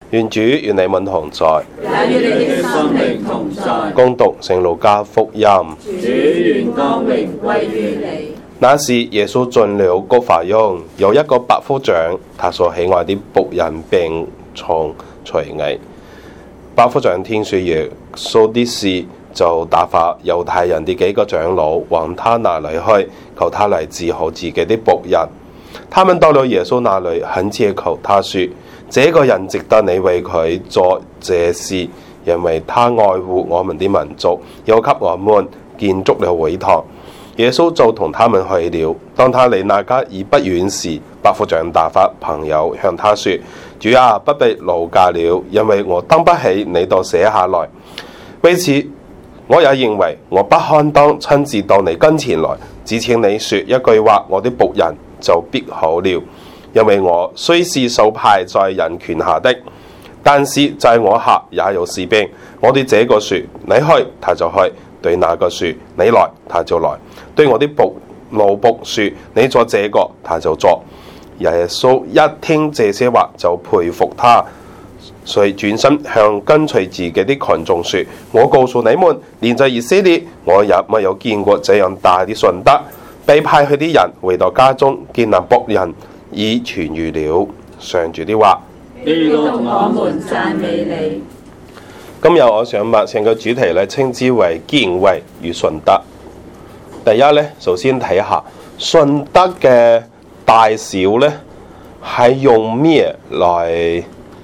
願主與你們同在， 也與你的心靈同在。 恭讀聖路加福音。 主願光榮歸於你。 那時耶穌進了葛法翁，有一個百夫長，他所喜愛的僕人病重垂危。百夫長聽說耶穌的事，就打發猶太人的幾個長老往他那裡去，求他來治好自己的僕人。他們到了耶穌那裡，懇切求他說：這個人值得你為佢做這事，因為他愛護我們的民族，又給我們建築了會堂。耶穌就同他們去了。當他離那家已不遠時，百夫長打發朋友向他說：主啊，不必勞駕了，因為我擔不起你都寫下來。為此，我也認為我不堪當親自到你跟前來，只請你說一句話，我的僕人就必好了。因為我雖是受派在人權下的，但是在我下也有士兵。我對這個說你去，他就去；對那個說你來，他就來；對我的奴僕說你做這個，他就做。耶穌一聽這些話，就佩服他，所以轉身向跟隨自己的群眾說：我告訴你們，連在以色列，我也沒有見過這樣大的信德。被派去的人回到家中，見那僕人已痊癒了。上主的話。 基督，我們讚美你。 今日我想把成個主題咧稱之為敬畏與信德。第一咧，首先睇下信德嘅大小咧，係用咩來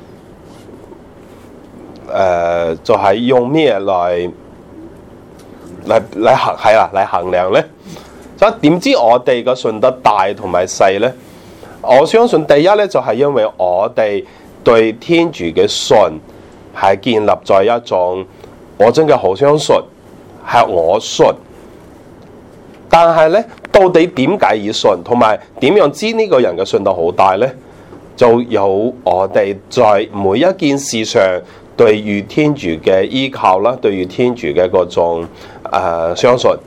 就係用咩嚟衡係啦，嚟衡量咧。咁點知我哋嘅信德大同埋細咧？我相信第一咧就係因為我哋對天主嘅信係建立在一種我真嘅好相信，係我信。但係咧，到底點解要信，同埋點樣知呢個人嘅信德好大咧？就有我哋在每一件事上對於天主嘅依靠啦，對於天主嘅嗰種相信。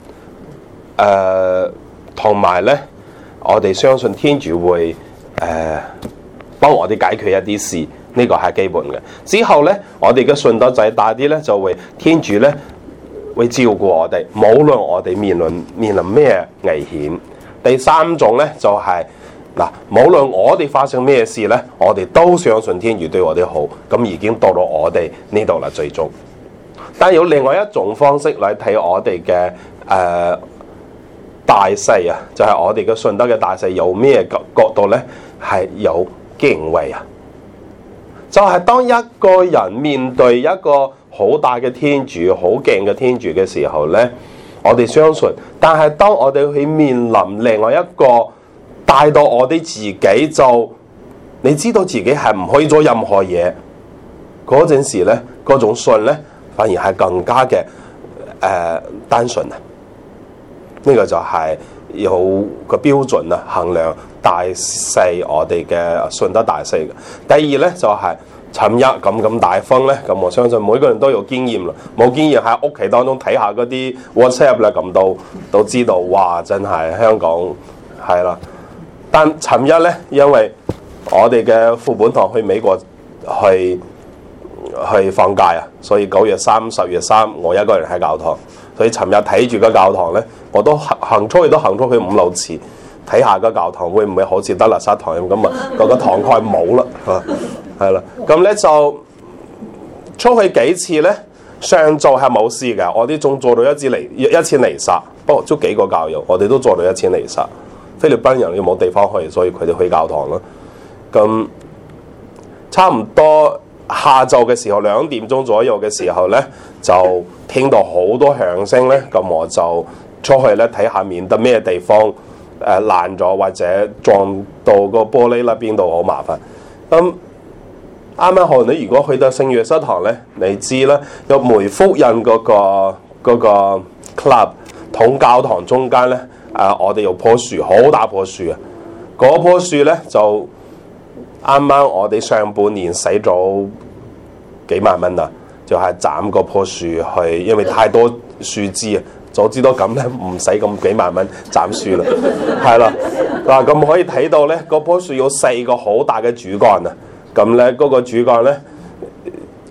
同埋咧，我哋相信天主會幫我哋解決一啲事，呢個係基本嘅。之後咧，我哋嘅信德仔大啲咧，就會天主咧會照顧我哋，無論我哋面臨咩危險。第三種咧就係嗱，無論我哋發生咩事咧，我哋都相信天主對我哋好，咁已經到咗我哋呢度啦，最終。但有另外一種方式嚟睇我哋嘅大細啊，就係我哋嘅信德嘅大細有咩角度咧？係有敬畏啊！就係當一個人面對一個好大嘅天主、好勁嘅天主嘅時候咧，我哋相信。但係當我哋去面臨另外一個大到我哋自己就，你知道自己係唔可以做任何嘢嗰陣時咧，嗰種信咧反而係更加嘅單純啊！呢個就係有個標準啊，衡量大細我哋嘅信德大細嘅。第二咧就係尋日咁大風咧，咁我相信每個人都有經驗啦。冇經驗喺屋企當中睇下嗰啲 WhatsApp 咧，咁都知道，哇！真係香港係啦。但尋日咧，因為我哋嘅副本堂去美國去放假啊，所以9月3、10月3，我一個人喺教堂。所以尋日睇住個教堂咧，我都行出去5-6次，睇下個教堂會唔會好似德勒薩堂咁啊？個堂蓋冇啦，係啦。咁咧就出去幾次咧，上晝係冇事嘅，我哋仲做到一次彌撒，不過都幾個教友，我哋都做到1次彌撒。菲律賓人要冇地方去，所以佢哋去教堂啦。咁差唔多下晝嘅時候2點鐘左右嘅時候咧，就聽到好多響聲咧，咁我就出去咧睇下，免得咩地方爛咗或者撞到個玻璃啦，邊度好麻煩。咁啱啱好，你如果去到聖約瑟堂咧，你知啦，有梅福印嗰個 club 同教堂中間咧，我哋有棵樹，好大棵樹啊！嗰棵樹咧就啱啱我哋上半年使咗幾萬蚊啦，就係斬嗰棵樹去，因為太多樹枝啊。早知道咁咧，唔使咁幾萬蚊斬樹啦，係啦。嗱，咁可以睇到咧，嗰棵樹有4個好大嘅主幹啊。咁咧，嗰個主幹咧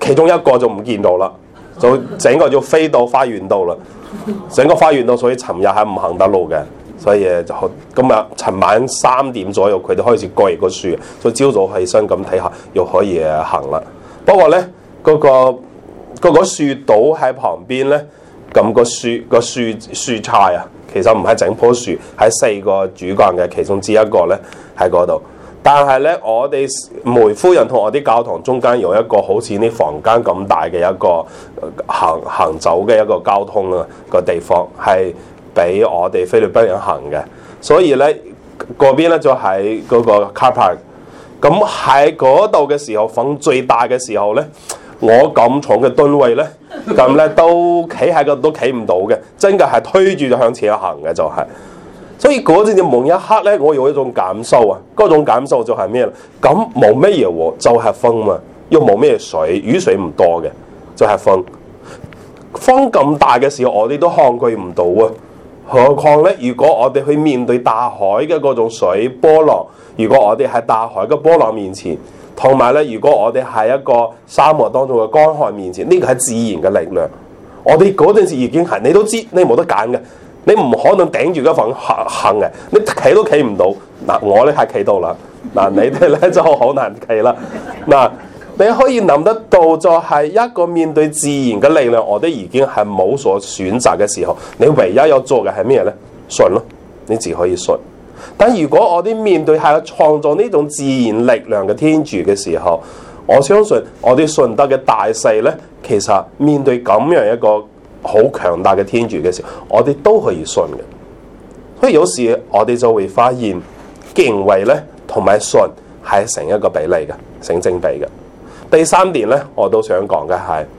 其中一個就唔見到啦，就整個就飛到花園度啦。整個花園度，所以尋日係唔行得路嘅，所以就今日尋晚3點左右，佢哋開始割個樹，所以朝早起身咁睇下，又可以行啦。不過咧，嗰個樹島喺旁邊咧，咁個樹菜啊，其實唔係整棵樹，係4個主幹嘅其中之一個咧喺嗰度。但係咧，我哋梅夫人同我啲教堂中間有一個好似啲房間咁大嘅一個行走嘅一個交通啊個地方，係俾我哋菲律賓人行嘅。所以咧，嗰邊咧就喺嗰個 car park。咁喺嗰度嘅時候，風最大嘅時候咧，我咁重嘅噸位咧，咁咧都企喺度都企唔到嘅，真嘅係推住就向前行嘅就係。所以嗰陣就夢一刻咧，我有一種感受啊，嗰種感受就係咩咧？咁冇咩嘢喎，就係風嘛，又冇咩水，雨水唔多嘅，就係風。風咁大嘅時候，我哋都抗拒唔到啊。何況咧，如果我哋去面對大海嘅嗰種水波浪，如果我哋喺大海嘅波浪面前，同埋咧，如果我哋喺一個沙漠當中嘅乾旱面前，呢個係自然嘅力量。我哋嗰陣時已經係，你都知，你冇得揀嘅。你唔可能頂住嗰份行嘅，你企都企唔到。嗱，我咧係企到啦。嗱，你哋咧就好難企啦。嗱，你可以諗得到，就係一個面對自然嘅力量，我哋已經係冇所選擇嘅時候，你唯一要做嘅係咩咧？信咯，你只可以信。但如果我哋面對係創造呢種自然力量嘅天主嘅時候，我相信我哋信德嘅大細咧，其實面對咁樣一個好強大嘅天主嘅時候，我哋都可以信嘅。所以有時我哋就會發現敬畏咧同埋信係成一個比例嘅，成正比嘅。第3點咧，我都想講嘅係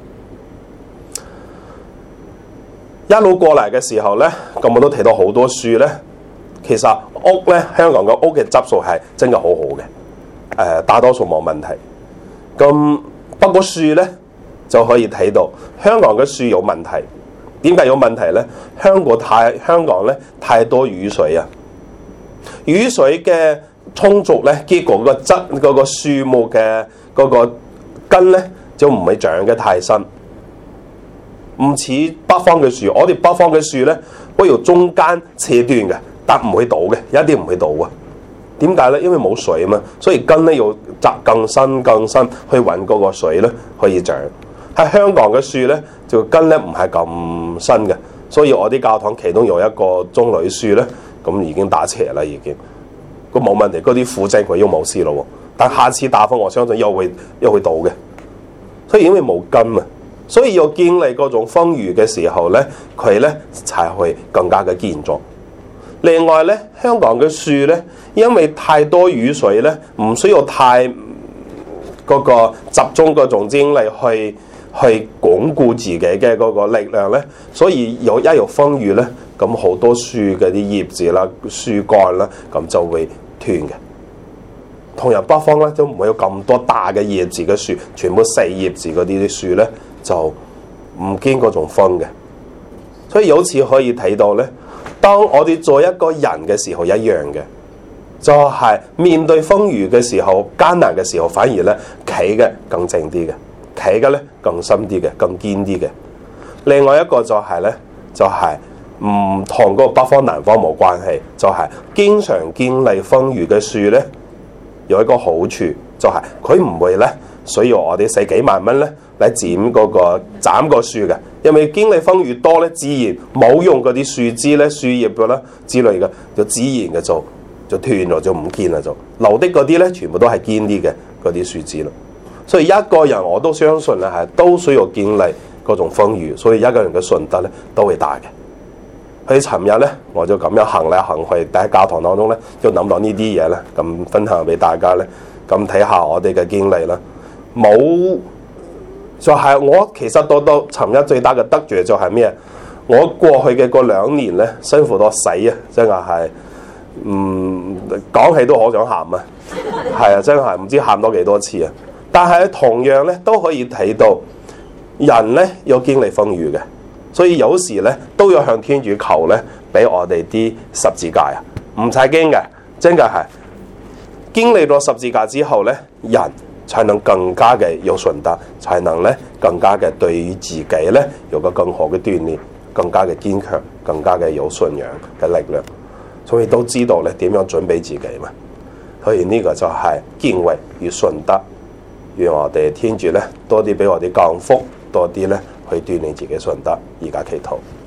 一路過嚟嘅時候咧，咁我都睇到好多樹咧。其實屋咧，香港嘅屋嘅質素係真係好好嘅，大多數冇問題。咁不過樹咧，就可以睇到香港嘅樹有問題。點解有問題咧？香港咧太多雨水啊！雨水嘅充足咧，結果嗰個樹木嘅嗰個根咧就唔會長得太深，唔似北方嘅樹。我哋北方嘅樹咧會由中間切斷嘅，但唔會倒嘅，一啲唔會倒啊！點解咧？因為冇水啊嘛，所以根咧要扎更深去揾嗰個水咧可以長。喺香港嘅樹咧，就根咧唔係咁深嘅，所以我啲教堂其中有一個棕櫚樹咧，咁已經打斜啦，已經咁冇問題。嗰啲腐症佢都冇事咯，但下次打風我相信又會倒嘅。所以因為冇根啊，所以要經歷嗰種風雨嘅時候咧，佢咧才會更加嘅健壯。另外咧，香港嘅樹咧，因為太多雨水咧，唔需要太嗰個集中嗰種精力去鞏固自己嘅嗰個力量咧，所以有風雨咧，咁好多樹嘅啲葉子啦、樹幹啦，咁就會斷嘅。同樣北方咧都唔會有咁多大嘅葉子嘅樹，全部細葉子嗰啲樹咧就唔經嗰種風嘅。所以由此可以睇到咧，當我哋做一個人嘅時候一樣嘅，就係面對風雨嘅時候、艱難嘅時候，反而咧企嘅更靜啲嘅，企嘅咧更深啲嘅、更堅啲嘅。另外一個就係咧，就係唔同個北方南方冇關係，就係經常經歷風雨嘅樹咧，有一個好處就係佢唔會咧需要我哋使幾萬蚊咧嚟斬個樹嘅，因為經歷風雨多咧，自然冇用嗰啲樹枝咧、樹葉嘅啦之類嘅，就自然嘅就斷咗，就唔見啦，就留的嗰啲咧，全部都係堅啲嘅嗰啲樹枝咯。所以一個人我都相信咧，係都需要經歷嗰種風雨，所以一個人嘅信德咧都會大嘅。佢尋日咧，我就咁樣行嚟行去，喺教堂當中咧，就諗到呢啲嘢咧，咁分享俾大家咧，咁睇下我哋嘅經歷啦。冇就係我其實到尋日最大嘅得著就係咩？我過去嘅嗰2年咧，辛苦到死啊！真係講起都好想喊啊！係啊，真係唔知喊多幾多次啊！但係同樣咧都可以睇到人咧有經歷風雨嘅，所以有時咧都要向天主求咧，俾我哋啲十字架啊！唔使驚嘅，真嘅係經歷咗十字架之後咧，人才能更加嘅有信德，才能咧更加嘅對於自己咧有個更好嘅鍛鍊，更加嘅堅強，更加嘅有信仰嘅力量。所以都知道咧點樣準備自己嘛。所以呢個就係敬畏與信德。願我哋天主咧多啲俾我哋降福，多啲咧去鍛鍊自己信德。而家祈禱。